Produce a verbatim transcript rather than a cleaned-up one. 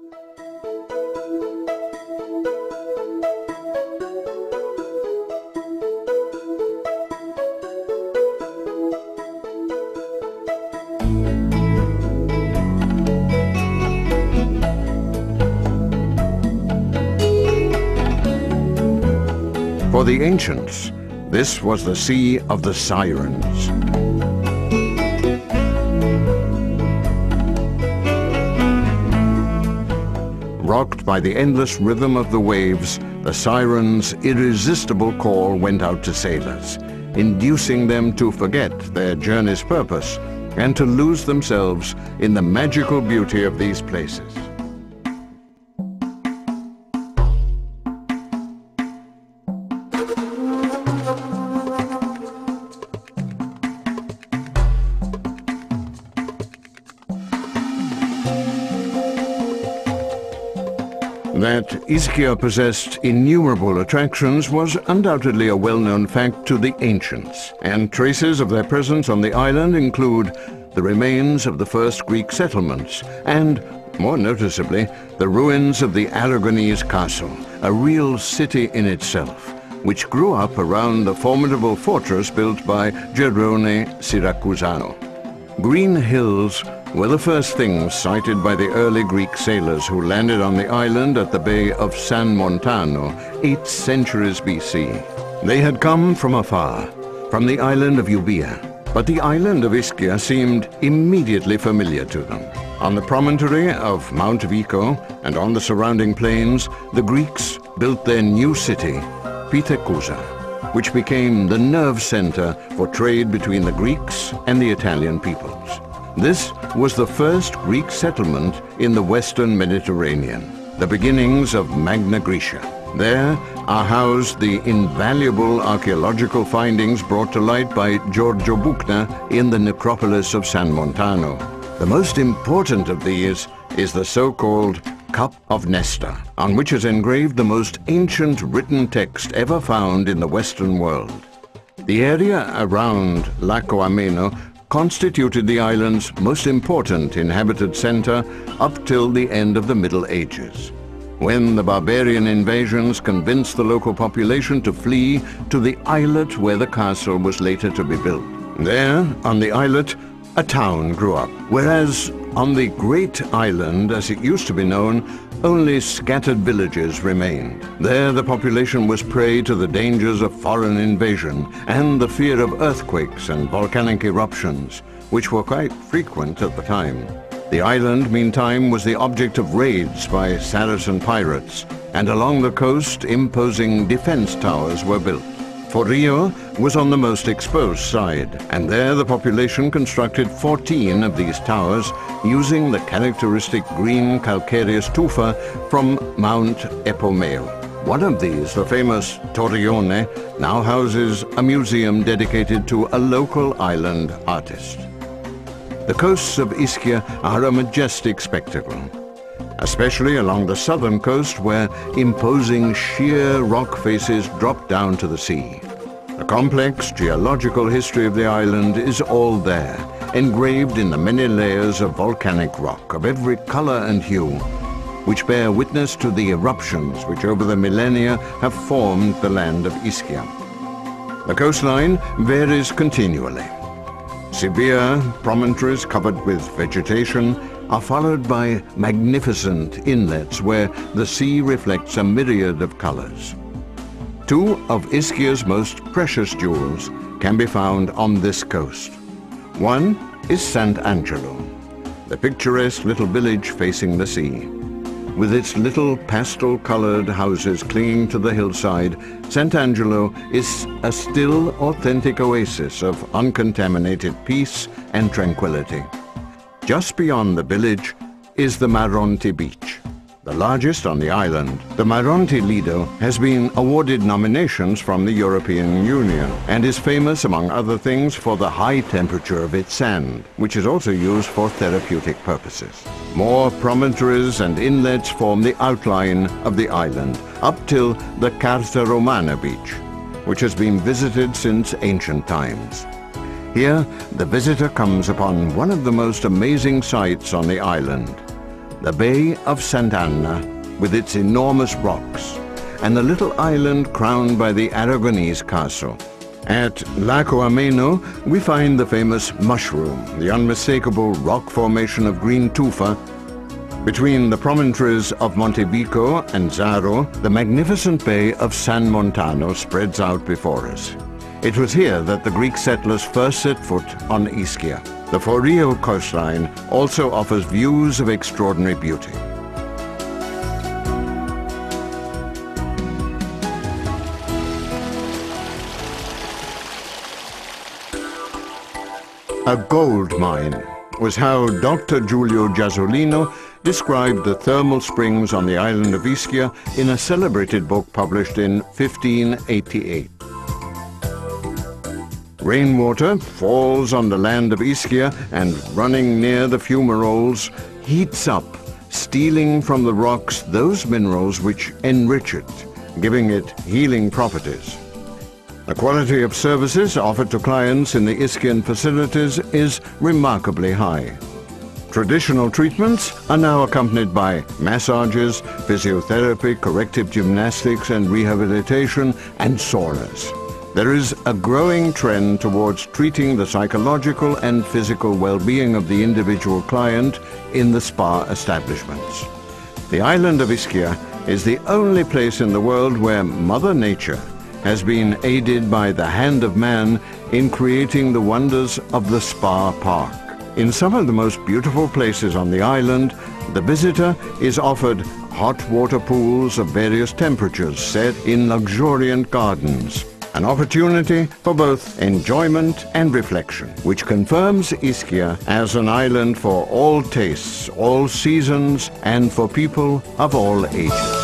For the ancients, this was the Sea of the Sirens. Rocked by the endless rhythm of the waves, the Sirens' irresistible call went out to sailors, inducing them to forget their journey's purpose and to lose themselves in the magical beauty of these places. That Ischia possessed innumerable attractions was undoubtedly a well-known fact to the ancients, and traces of their presence on the island include the remains of the first Greek settlements and, more noticeably, the ruins of the Aragonese castle, a real city in itself, which grew up around the formidable fortress built by Gerone Siracusano. Green hills were the first things sighted by the early Greek sailors who landed on the island at the Bay of San Montano, eight centuries B C. They had come from afar, from the island of Euboea, but the island of Ischia seemed immediately familiar to them. On the promontory of Mount Vico and on the surrounding plains, the Greeks built their new city, Pithecusa, which became the nerve center for trade between the Greeks and the Italian peoples. This was the first Greek settlement in the western Mediterranean, the beginnings of Magna Graecia. There are housed the invaluable archaeological findings brought to light by Giorgio Buchner in the necropolis of San Montano. The most important of these is the so-called Cup of Nestor, on which is engraved the most ancient written text ever found in the Western world. The area around Lago Ameno constituted the island's most important inhabited center up till the end of the Middle Ages, when the barbarian invasions convinced the local population to flee to the islet where the castle was later to be built. There, on the islet, a town grew up, whereas on the Great Island, as it used to be known, only scattered villages remained. There the population was prey to the dangers of foreign invasion and the fear of earthquakes and volcanic eruptions, which were quite frequent at the time. The island, meantime, was the object of raids by Saracen pirates, and along the coast imposing defense towers were built. Forio was on the most exposed side, and there the population constructed fourteen of these towers using the characteristic green calcareous tufa from Mount Epomeo. One of these, the famous Torrione, now houses a museum dedicated to a local island artist. The coasts of Ischia are a majestic spectacle, especially along the southern coast where imposing sheer rock faces drop down to the sea. The complex geological history of the island is all there, engraved in the many layers of volcanic rock of every color and hue, which bear witness to the eruptions which over the millennia have formed the land of Ischia. The coastline varies continually. Severe promontories covered with vegetation are followed by magnificent inlets where the sea reflects a myriad of colors. Two of Ischia's most precious jewels can be found on this coast. One is Sant'Angelo, the picturesque little village facing the sea. With its little pastel-colored houses clinging to the hillside, Sant'Angelo is a still, authentic oasis of uncontaminated peace and tranquility. Just beyond the village is the Maronte Beach, the largest on the island. The Maronte Lido has been awarded nominations from the European Union and is famous, among other things, for the high temperature of its sand, which is also used for therapeutic purposes. More promontories and inlets form the outline of the island, up till the Carta Romana Beach, which has been visited since ancient times. Here, the visitor comes upon one of the most amazing sights on the island, the Bay of Sant'Anna with its enormous rocks, and the little island crowned by the Aragonese castle. At Lago Ameno, we find the famous mushroom, the unmistakable rock formation of green tufa. Between the promontories of Montebico and Zaro, the magnificent bay of San Montano spreads out before us. It was here that the Greek settlers first set foot on Ischia. The Forio coastline also offers views of extraordinary beauty. A gold mine was how Doctor Giulio Giasolino described the thermal springs on the island of Ischia in a celebrated book published in fifteen eighty-eight. Rainwater falls on the land of Ischia and, running near the fumaroles, heats up, stealing from the rocks those minerals which enrich it, giving it healing properties. The quality of services offered to clients in the Ischia facilities is remarkably high. Traditional treatments are now accompanied by massages, physiotherapy, corrective gymnastics and rehabilitation, and saunas. There is a growing trend towards treating the psychological and physical well-being of the individual client in the spa establishments. The island of Ischia is the only place in the world where Mother Nature has been aided by the hand of man in creating the wonders of the spa park. In some of the most beautiful places on the island, the visitor is offered hot water pools of various temperatures set in luxuriant gardens, an opportunity for both enjoyment and reflection, which confirms Ischia as an island for all tastes, all seasons, and for people of all ages.